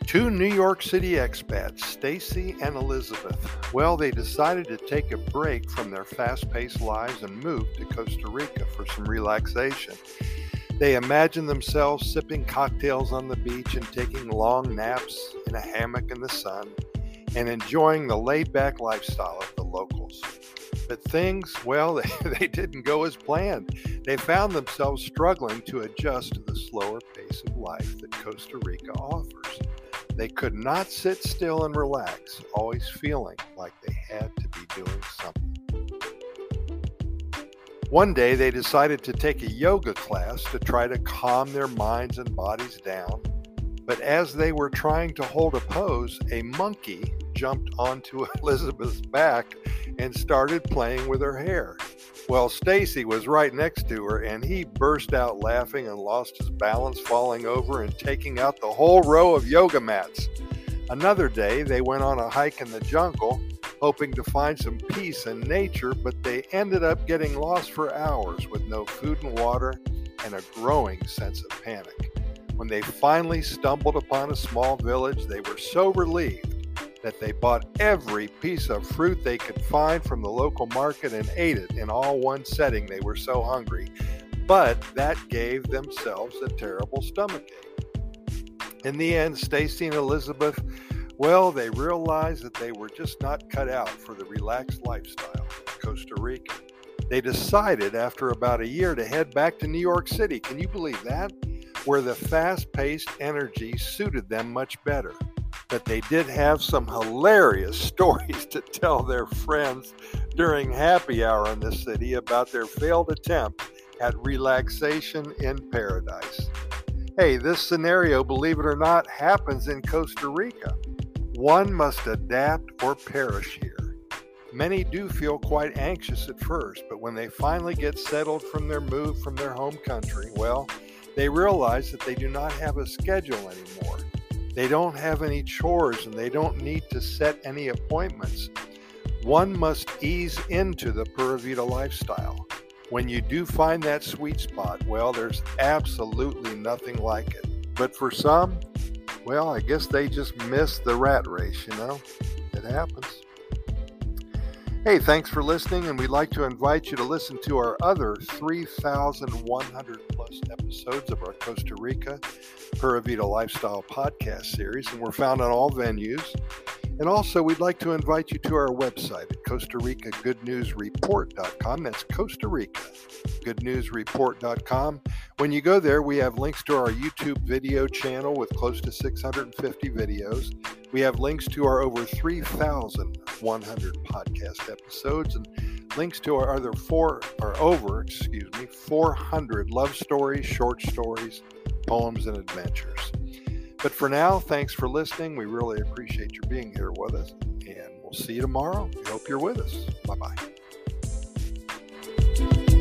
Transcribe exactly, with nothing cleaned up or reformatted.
Two New York City expats, Stacy and Elizabeth, well, they decided to take a break from their fast-paced lives and move to Costa Rica for some relaxation. They imagined themselves sipping cocktails on the beach and taking long naps in a hammock in the sun and enjoying the laid-back lifestyle of the locals. But things, well, they, they didn't go as planned. They found themselves struggling to adjust to the slower pace of life that Costa Rica offers. They could not sit still and relax, always feeling like they had to be doing something. One day, they decided to take a yoga class to try to calm their minds and bodies down. But as they were trying to hold a pose, a monkey jumped onto Elizabeth's back and started playing with her hair. Well, Stacy was right next to her, and he burst out laughing and lost his balance, falling over and taking out the whole row of yoga mats. Another day, they went on a hike in the jungle, hoping to find some peace in nature, but they ended up getting lost for hours with no food and water and a growing sense of panic. When they finally stumbled upon a small village, they were so relieved that they bought every piece of fruit they could find from the local market and ate it in all one setting. They were so hungry. But that gave themselves a terrible stomachache. In the end, Stacy and Elizabeth, well, they realized that they were just not cut out for the relaxed lifestyle of Costa Rica. They decided after about a year to head back to New York City. Can you believe that? Where the fast-paced energy suited them much better. But they did have some hilarious stories to tell their friends during happy hour in the city about their failed attempt at relaxation in paradise. Hey, this scenario, believe it or not, happens in Costa Rica. One must adapt or perish here. Many do feel quite anxious at first, but when they finally get settled from their move from their home country, well, they realize that they do not have a schedule anymore. They don't have any chores and they don't need to set any appointments. One must ease into the Pura Vida lifestyle. When you do find that sweet spot, well, there's absolutely nothing like it. But for some, well, I guess they just miss the rat race, you know? It happens. Hey, thanks for listening, and we'd like to invite you to listen to our other three thousand one hundred plus episodes of our Costa Rica Pura Vida Lifestyle podcast series, and we're found on all venues. And also, we'd like to invite you to our website at Costa Rica Good News Report dot com. That's Costa Rica Good News Report dot com. When you go there, we have links to our YouTube video channel with close to six hundred fifty videos. We have links to our over three thousand one hundred podcast episodes and links to our other four, or over, excuse me, four hundred love stories, short stories, poems, and adventures. But for now, thanks for listening. We really appreciate your being here with us, and we'll see you tomorrow. We hope you're with us. Bye-bye.